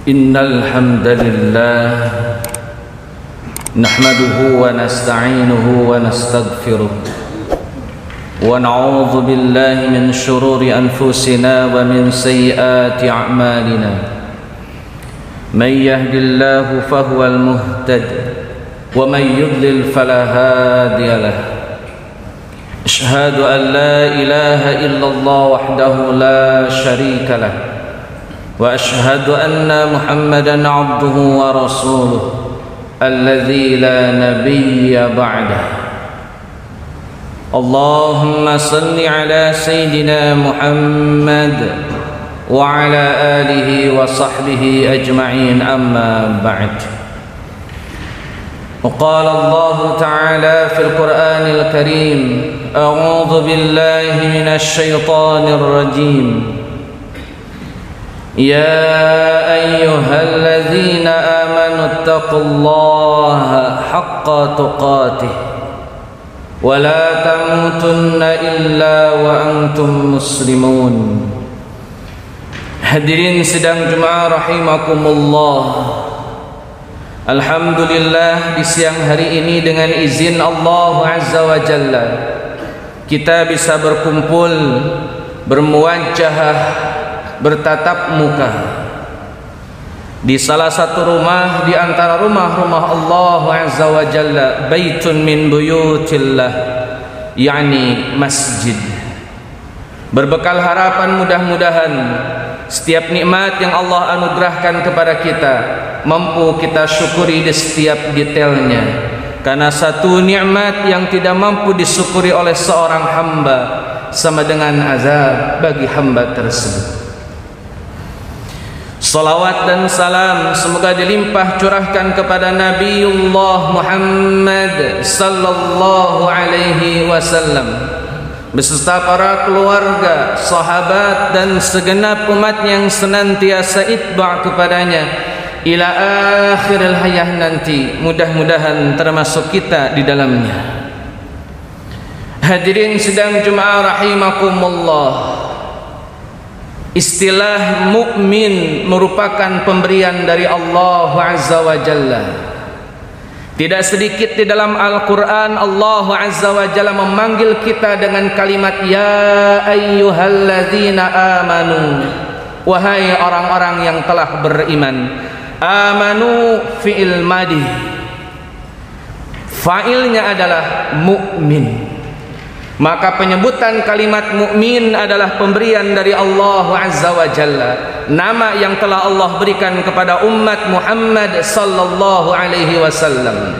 إن الحمد لله نحمده ونستعينه ونستغفره ونعوذ بالله من شرور أنفسنا ومن سيئات أعمالنا من يهد الله فهو المهتد ومن يضلل فلا هادي له أشهد أن لا إله إلا الله وحده لا شريك له وأشهد أن محمدًا عبده ورسوله الذي لا نبي بعده اللهم صل على سيدنا محمد وعلى آله وصحبه أجمعين أما بعد وقال الله تعالى في القرآن الكريم أعوذ بالله من الشيطان الرجيم يا أيها الذين آمنوا اتقوا الله حق تقاته ولا تموتن إلا وأنتم مسلمون. Hadirin sidang Jumat rahimakumullah. Alhamdulillah di siang hari ini dengan izin Allah Azza wa Jalla kita bisa berkumpul, bermuwajahah, bertatap muka di salah satu rumah di antara rumah-rumah Allah Azza wa Jalla, baitun min buyutillah, yakni masjid. Berbekal harapan mudah-mudahan setiap nikmat yang Allah anugerahkan kepada kita mampu kita syukuri di setiap detailnya, karena satu nikmat yang tidak mampu disyukuri oleh seorang hamba sama dengan azab bagi hamba tersebut. Salawat dan salam semoga dilimpah curahkan kepada Nabiullah Muhammad sallallahu alaihi wasallam beserta para keluarga, sahabat dan segenap umat yang senantiasa itba' kepadanya ila akhiril hayah nanti. Mudah-mudahan termasuk kita di dalamnya. Hadirin sidang Jumat rahimakumullah. Istilah mukmin merupakan pemberian dari Allah Azza wa Jalla. Tidak sedikit di dalam Al-Quran Allah Azza wa Jalla memanggil kita dengan kalimat ya ayyuhalladzina amanu, wahai orang-orang yang telah beriman. Amanu fi'il madi, fa'ilnya adalah mukmin. Maka penyebutan kalimat mukmin adalah pemberian dari Allah Azza wa Jalla, nama yang telah Allah berikan kepada umat Muhammad sallallahu alaihi wasallam.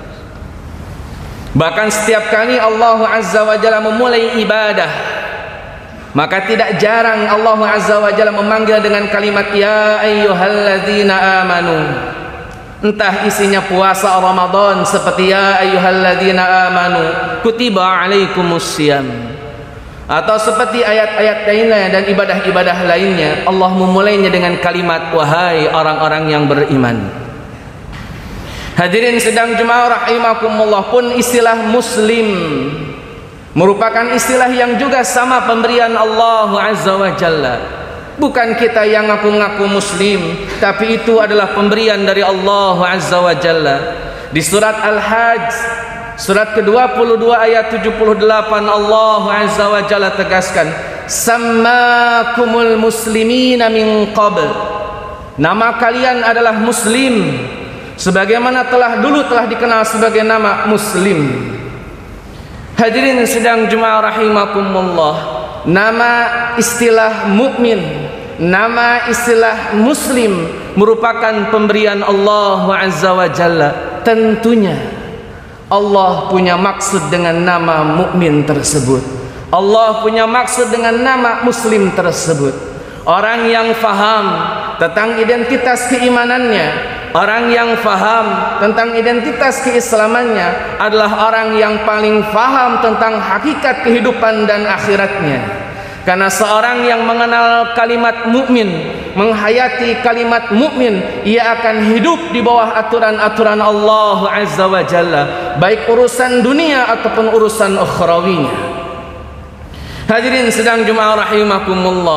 Bahkan setiap kali Allah Azza wa Jalla memulai ibadah, maka tidak jarang Allah Azza wa Jalla memanggil dengan kalimat ya ayyuhalladzina amanu. Entah isinya puasa Ramadan seperti ya ayyuhalladzina amanu kutiba alaikumussyam, atau seperti ayat-ayat lainnya dan ibadah-ibadah lainnya Allah memulainya dengan kalimat wahai orang-orang yang beriman. Hadirin sedang Jumat rahimakumullah, pun istilah muslim merupakan istilah yang juga sama pemberian Allah Azza wa Jalla. Bukan kita yang ngaku-ngaku muslim, tapi itu adalah pemberian dari Allah Azza wa Jalla. Di surat Al-Hajj surat ke-22 ayat 78 Allah Azza wa Jalla tegaskan sammakumul muslimina min qabl, nama kalian adalah muslim sebagaimana dulu telah dikenal sebagai nama muslim. Hadirin sedang Jumat rahimakumullah, nama istilah mukmin, nama istilah muslim merupakan pemberian Allah Azza wa Jalla. Tentunya Allah punya maksud dengan nama mukmin tersebut. Allah punya maksud dengan nama muslim tersebut. Orang yang faham tentang identitas keimanannya, orang yang faham tentang identitas keislamannya adalah orang yang paling faham tentang hakikat kehidupan dan akhiratnya. Karena seorang yang mengenal kalimat mukmin, menghayati kalimat mukmin, ia akan hidup di bawah aturan-aturan Allah Azza wa Jalla, baik urusan dunia ataupun urusan ukhrawinya. Hadirin sedang Jumat rahimakumullah,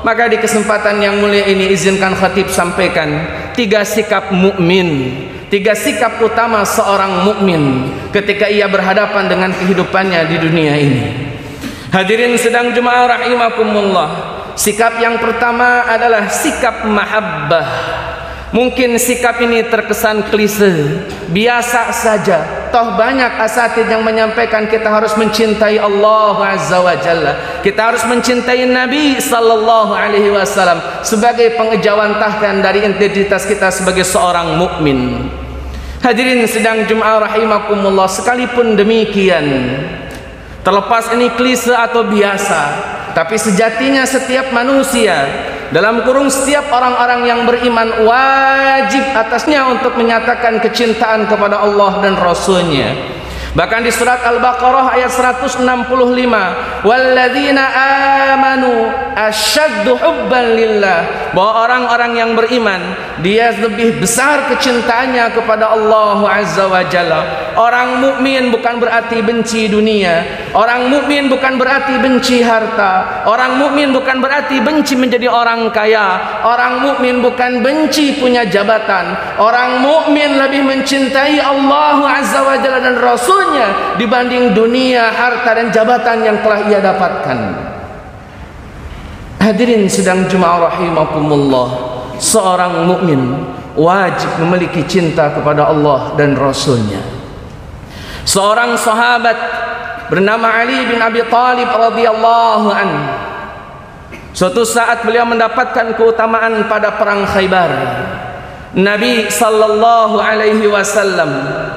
Maka di kesempatan yang mulia ini izinkan khatib sampaikan 3 sikap mukmin, 3 sikap utama seorang mukmin ketika ia berhadapan dengan kehidupannya di dunia ini. Hadirin sedang jemaah rahimakumullah. Sikap yang pertama adalah sikap mahabbah. Mungkin sikap ini terkesan klise, biasa saja. Toh banyak asatidz yang menyampaikan kita harus mencintai Allah Azza wa Jalla. Kita harus mencintai Nabi sallallahu alaihi wasallam sebagai pengejawantahkan dari identitas kita sebagai seorang mukmin. Hadirin sedang jemaah rahimakumullah, sekalipun demikian, terlepas ini klise atau biasa, tapi sejatinya setiap manusia, dalam kurung setiap orang-orang yang beriman, wajib atasnya untuk menyatakan kecintaan kepada Allah dan Rasul-Nya. Bahkan di surat Al-Baqarah ayat 165, walladzina amanu asyaddu hubban lillah, bahwa orang-orang yang beriman dia lebih besar kecintaannya kepada Allah Azza wa Jalla. Orang mukmin bukan berarti benci dunia, orang mukmin bukan berarti benci harta, orang mukmin bukan berarti benci menjadi orang kaya, orang mukmin bukan benci punya jabatan. Orang mukmin lebih mencintai Allah Azza wa Jalla dan Rasulnya dibanding dunia, harta dan jabatan yang telah ia dapatkan. Hadirin sedang jemaah rahimakumullah, seorang mukmin wajib memiliki cinta kepada Allah dan Rasulnya. Seorang sahabat bernama Ali bin Abi Thalib radhiyallahu anhu, suatu saat beliau mendapatkan keutamaan pada perang Khaybar. Nabi sallallahu alaihi wasallam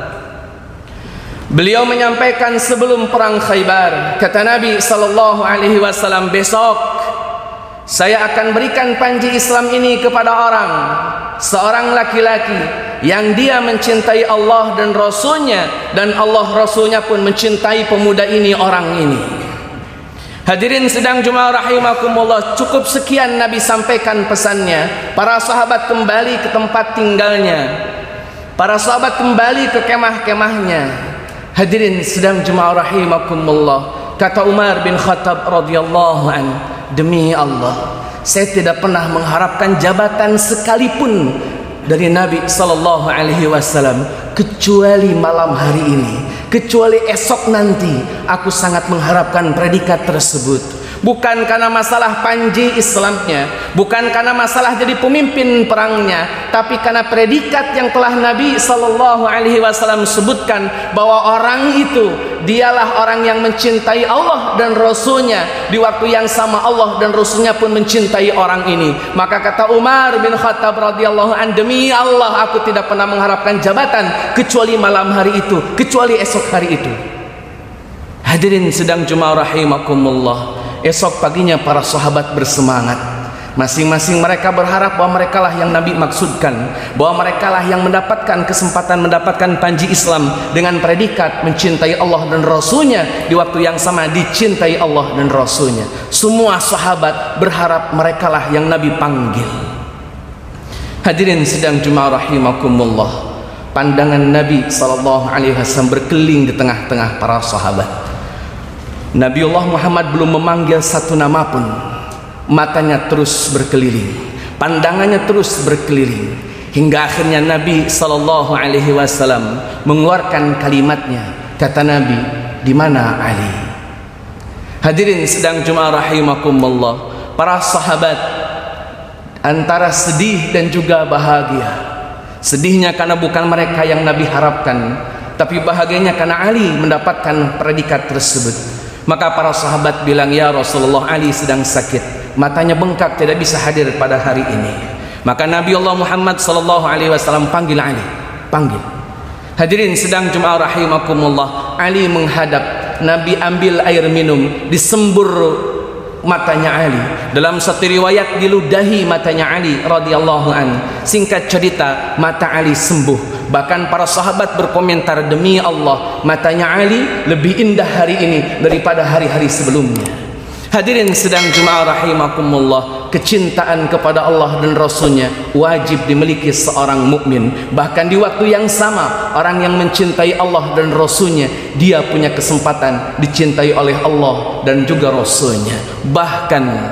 beliau menyampaikan sebelum perang Khaybar, kata Nabi sallallahu alaihi wasallam, besok saya akan berikan panji Islam ini kepada seorang laki-laki yang dia mencintai Allah dan Rasulnya, dan Allah Rasulnya pun mencintai pemuda ini, orang ini. Hadirin sedang jemaah rahimakumullah, cukup sekian Nabi sampaikan pesannya. Para sahabat kembali ke tempat tinggalnya, para sahabat kembali ke kemah-kemahnya. Hadirin sedang jemaah rahimakumullah, kata Umar bin Khattab radhiyallahu anhu, demi Allah, saya tidak pernah mengharapkan jabatan sekalipun dari Nabi sallallahu alaihi wasallam kecuali malam hari ini, kecuali esok nanti. Aku sangat mengharapkan predikat tersebut. Bukan karena masalah panji Islamnya, bukan karena masalah jadi pemimpin perangnya, tapi karena predikat yang telah Nabi sallallahu alaihi wasallam sebutkan, bahwa orang itu dialah orang yang mencintai Allah dan Rasulnya. Di waktu yang sama Allah dan Rasulnya pun mencintai orang ini. Maka kata Umar bin Khattab radhiyallahu an, demi Allah aku tidak pernah mengharapkan jabatan kecuali malam hari itu, kecuali esok hari itu. Hadirin sedang jemaah rahimakumullah, esok paginya para sahabat bersemangat. Masing-masing mereka berharap bahwa merekalah yang Nabi maksudkan, bahwa merekalah yang mendapatkan kesempatan mendapatkan panji Islam dengan predikat mencintai Allah dan Rasulnya, di waktu yang sama dicintai Allah dan Rasulnya. Semua sahabat berharap merekalah yang Nabi panggil. Hadirin sedang jemaah rahimakumullah, pandangan Nabi SAW berkeliling di tengah-tengah para sahabat. Nabiullah Muhammad belum memanggil satu nama pun, matanya terus berkeliling, pandangannya terus berkeliling, hingga akhirnya Nabi SAW mengeluarkan kalimatnya. Kata Nabi, di mana Ali? Hadirin sedang jemaah rahimakumullah, para sahabat antara sedih dan juga bahagia. Sedihnya karena bukan mereka yang Nabi harapkan, tapi bahagianya karena Ali mendapatkan predikat tersebut. Maka para sahabat bilang, ya Rasulullah, Ali sedang sakit, matanya bengkak, tidak bisa hadir pada hari ini. Maka Nabi Allah Muhammad SAW panggil Ali, panggil. Hadirin sedang jemaah rahimakumullah, Ali menghadap Nabi, ambil air minum, disembur matanya Ali. Dalam satu riwayat diludahi matanya Ali radhiyallahu an. Singkat cerita, mata Ali sembuh. Bahkan para sahabat berkomentar, demi Allah, matanya Ali lebih indah hari ini daripada hari-hari sebelumnya. Hadirin sedang jemaah rahimakumullah, kecintaan kepada Allah dan Rasulnya wajib dimiliki seorang mukmin. Bahkan di waktu yang sama, orang yang mencintai Allah dan Rasulnya, dia punya kesempatan dicintai oleh Allah dan juga Rasulnya. Bahkan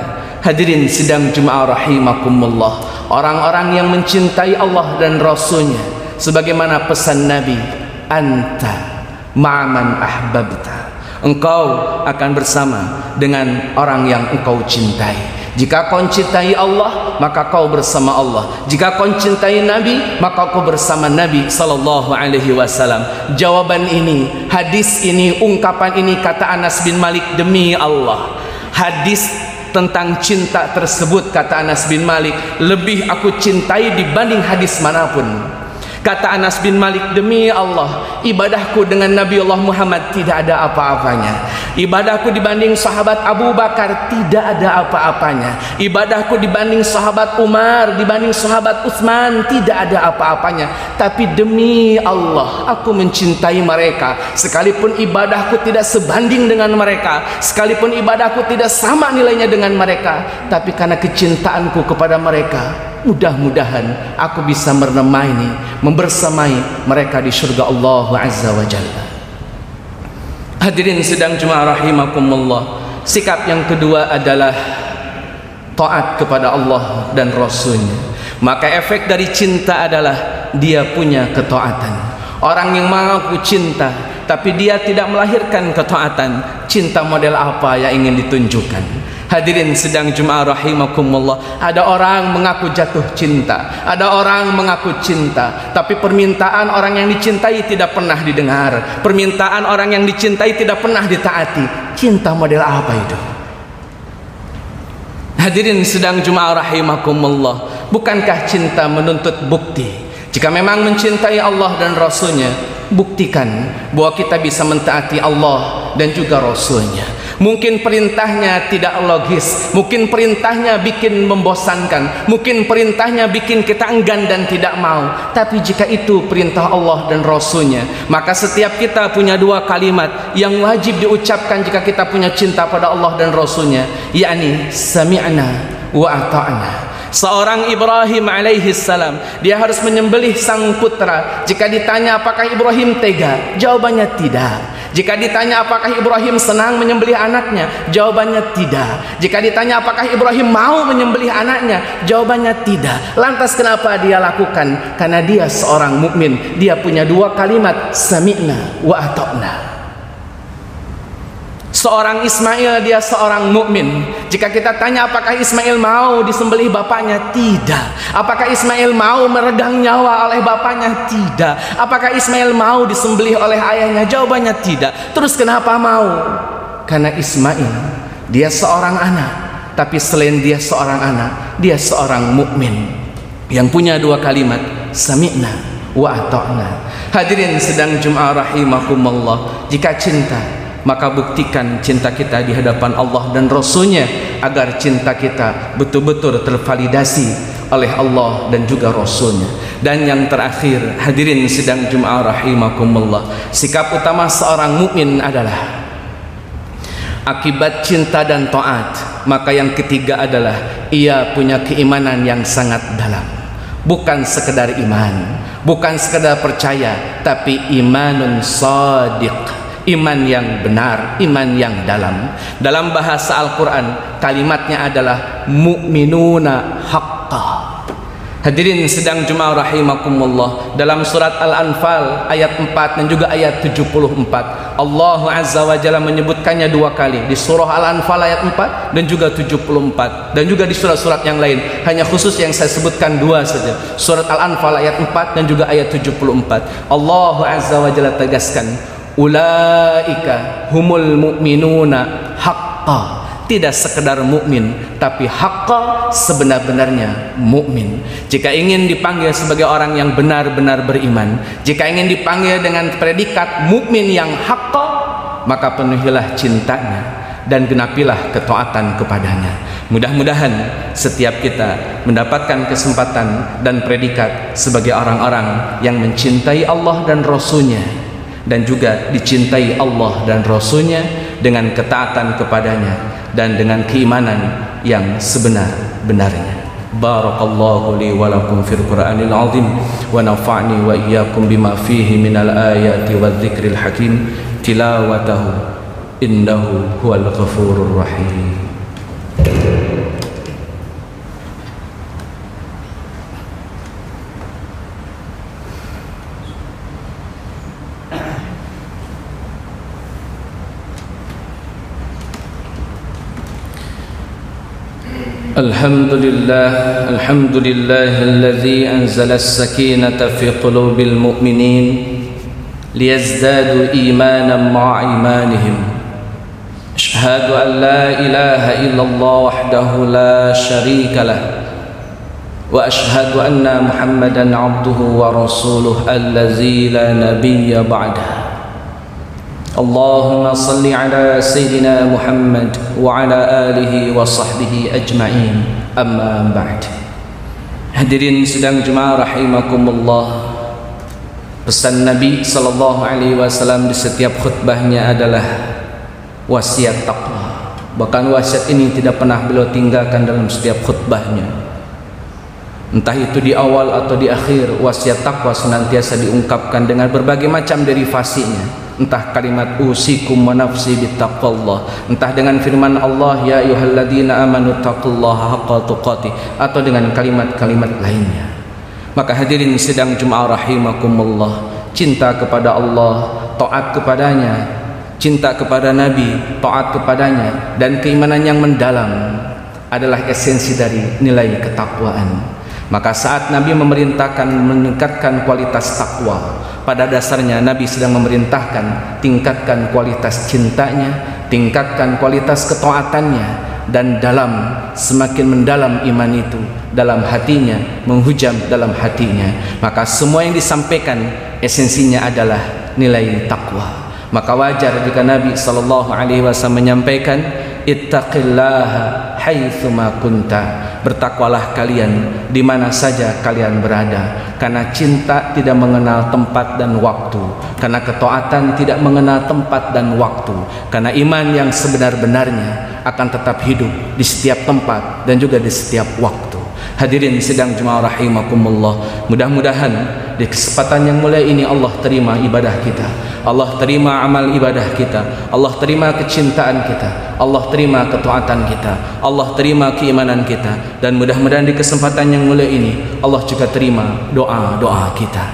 Hadirin sidang Jumat rahimakumullah, orang-orang yang mencintai Allah dan Rasulnya, sebagaimana pesan Nabi, anta ma'aman ahbabta, engkau akan bersama dengan orang yang engkau cintai. Jika kau cintai Allah, maka kau bersama Allah. Jika kau cintai Nabi, maka kau bersama Nabi sallallahu alaihi wasallam. Jawaban ini, hadis ini, ungkapan ini, kata Anas bin Malik, demi Allah, hadis tentang cinta tersebut, kata Anas bin Malik, lebih aku cintai dibanding hadis manapun. Kata Anas bin Malik, demi Allah, ibadahku dengan Nabi Allah Muhammad tidak ada apa-apanya. Ibadahku dibanding sahabat Abu Bakar tidak ada apa-apanya. Ibadahku dibanding sahabat Umar, dibanding sahabat Utsman tidak ada apa-apanya. Tapi demi Allah, aku mencintai mereka. Sekalipun ibadahku tidak sebanding dengan mereka, sekalipun ibadahku tidak sama nilainya dengan mereka, tapi karena kecintaanku kepada mereka, mudah-mudahan aku bisa membersamai mereka di surga Allah Azza wa Jalla. Hadirin sidang Jumat rahimakumullah, sikap yang kedua adalah taat kepada Allah dan Rasulnya. Maka efek dari cinta adalah dia punya ketaatan. Orang yang mengaku cinta tapi dia tidak melahirkan ketaatan, cinta model apa yang ingin ditunjukkan? Hadirin sedang Jumat rahimakumullah, ada orang mengaku jatuh cinta, ada orang mengaku cinta, tapi permintaan orang yang dicintai tidak pernah didengar, permintaan orang yang dicintai tidak pernah ditaati. Cinta model apa itu? Hadirin sedang Jumat rahimakumullah, bukankah cinta menuntut bukti? Jika memang mencintai Allah dan Rasulnya, buktikan bahwa kita bisa mentaati Allah dan juga Rasulnya. Mungkin perintahnya tidak logis, mungkin perintahnya bikin membosankan, mungkin perintahnya bikin kita enggan dan tidak mau. Tapi jika itu perintah Allah dan Rasulnya, maka setiap kita punya dua kalimat yang wajib diucapkan jika kita punya cinta pada Allah dan Rasulnya, yakni sami'na wa ata'na. Seorang Ibrahim alaihi salam, dia harus menyembelih sang putra. Jika ditanya apakah Ibrahim tega, jawabannya tidak. Jika ditanya apakah Ibrahim senang menyembelih anaknya, jawabannya tidak. Jika ditanya apakah Ibrahim mau menyembelih anaknya, jawabannya tidak. Lantas kenapa dia lakukan? Karena dia seorang mukmin. Dia punya dua kalimat, sami'na wa ata'na. Seorang Ismail, dia seorang mukmin. Jika kita tanya apakah Ismail mau disembelih bapaknya, tidak. Apakah Ismail mau meregang nyawa oleh bapaknya, tidak. Apakah Ismail mau disembelih oleh ayahnya, jawabannya tidak. Terus kenapa mau? Karena Ismail, dia seorang anak, tapi selain dia seorang anak, dia seorang mukmin yang punya dua kalimat, sami'na wa ata'na. Hadirin sedang Jumat rahimakumullah, jika cinta, maka buktikan cinta kita di hadapan Allah dan Rasulnya, agar cinta kita betul-betul tervalidasi oleh Allah dan juga Rasulnya. Dan yang terakhir, hadirin sidang Jumat rahimakumullah, sikap utama seorang mukmin adalah akibat cinta dan taat, maka yang ketiga adalah ia punya keimanan yang sangat dalam. Bukan sekedar iman, bukan sekedar percaya, tapi imanun shadiq, iman yang benar, iman yang dalam. Dalam bahasa Al-Quran, kalimatnya adalah mu'minuna haqqa. Hadirin sedang Jumat rahimakumullah, dalam surat Al-Anfal ayat 4 dan juga ayat 74, Allah Azza wa Jalla menyebutkannya dua kali, di surah Al-Anfal ayat 4 dan juga 74, dan juga di surat-surat yang lain. Hanya khusus yang saya sebutkan dua saja, surat Al-Anfal ayat 4 dan juga ayat 74. Allah Azza wa Jalla tegaskan, ulaika humul mu'minuna haqqa. Tidak sekedar mukmin, tapi haqqa, sebenar-benarnya mukmin. Jika ingin dipanggil sebagai orang yang benar-benar beriman, jika ingin dipanggil dengan predikat mukmin yang haqqa, maka penuhilah cintanya dan genapilah ketaatan kepadanya. Mudah-mudahan setiap kita mendapatkan kesempatan dan predikat sebagai orang-orang yang mencintai Allah dan Rasulnya, dan juga dicintai Allah dan Rasulnya dengan ketaatan kepadanya dan dengan keimanan yang sebenar-benarnya. Barakallahu li wa lakum fil Qur'anil azim wa nafa'ni wa iyyakum bima fihi minal ayati wadh-dhikril hakim, tilawatahu innahu huwal ghafurur rahim. الحمد لله الذي أنزل السكينة في قلوب المؤمنين ليزدادوا إيمانا مع إيمانهم. أشهد أن لا إله إلا الله وحده لا شريك له وأشهد أن محمدا عبده ورسوله الذي لا نبي بعده. اللهم صل على سيدنا محمد وعلى آله وصحبه أجمعين. أما بعد. Hadirin sidang jemaah rahimakumullah. Pesan Nabi sallallahu alaihi wasallam di setiap khutbahnya adalah wasiat taqwa. Bahkan wasiat ini tidak pernah beliau tinggalkan dalam setiap khutbahnya. Entah itu di awal atau di akhir, wasiat taqwa senantiasa diungkapkan dengan berbagai macam derivasinya. Entah kalimat usikum wa nafsi bittaqwallah, entah dengan firman Allah ya ayyuhalladzina amanu taqullaha haqqa tuqatih, atau dengan kalimat-kalimat lainnya. Maka hadirin sidang Jumat rahimakumullah, cinta kepada Allah, taat kepadanya, cinta kepada Nabi, taat kepadanya, dan keimanan yang mendalam adalah esensi dari nilai ketakwaan. Maka saat Nabi memerintahkan meningkatkan kualitas takwa, pada dasarnya Nabi sedang memerintahkan tingkatkan kualitas cintanya, tingkatkan kualitas ketaatannya, dan semakin mendalam iman itu dalam hatinya, menghujam dalam hatinya. Maka semua yang disampaikan esensinya adalah nilai takwa. Maka wajar jika Nabi sallallahu alaihi wasallam menyampaikan ittaqillaha haitsuma kunta, bertakwalah kalian di mana saja kalian berada, karena cinta tidak mengenal tempat dan waktu, karena ketaatan tidak mengenal tempat dan waktu, karena iman yang sebenar-benarnya akan tetap hidup di setiap tempat dan juga di setiap waktu. Hadirin sidang jemaah rahimakumullah, mudah-mudahan di kesempatan yang mulia ini Allah terima ibadah kita, Allah terima amal ibadah kita, Allah terima kecintaan kita, Allah terima ketaatan kita, Allah terima keimanan kita, dan mudah-mudahan di kesempatan yang mulia ini Allah juga terima doa-doa kita.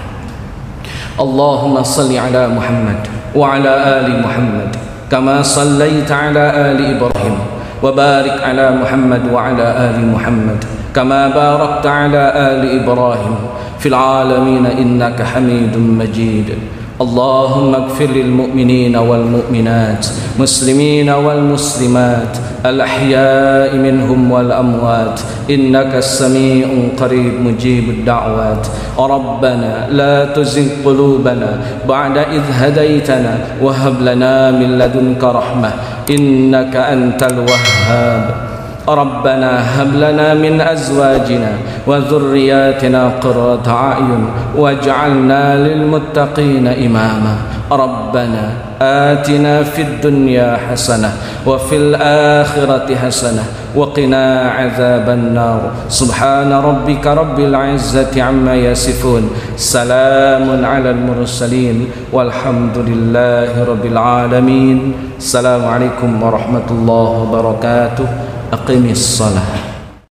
Allahumma salli ala Muhammad wa ala ali Muhammad kama sallaita ala ali Ibrahim wa barik ala Muhammad wa ala ali Muhammad kama barakta ala ali Ibrahim fil alamin innaka Hamidum Majid. اللهم اغفر للمؤمنين والمؤمنات مسلمين والمسلمات الأحياء منهم والأموات إنك السميع قريب مجيب الدعوات. ربنا لا تزغ قلوبنا بعد إذ هديتنا وهب لنا من لدنك رحمة إنك أنت الوهاب. ربنا هب لنا من أزواجنا وذرياتنا قرة أعين واجعلنا للمتقين إماما. ربنا آتنا في الدنيا حسنة وفي الآخرة حسنة وقنا عذاب النار. سبحان ربك رب العزة عما يصفون سلام على المرسلين والحمد لله رب العالمين. السلام عليكم ورحمة الله وبركاته. أقم الصلاة.